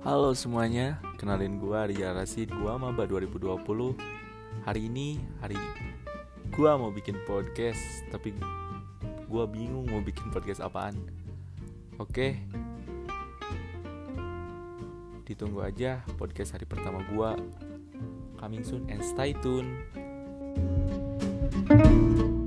Halo semuanya, kenalin gua Arya Rasid, gua maba 2020. Hari ini gua mau bikin podcast, tapi gua bingung mau bikin podcast apaan. Oke, ditunggu aja podcast hari pertama gua. Coming soon and stay tune.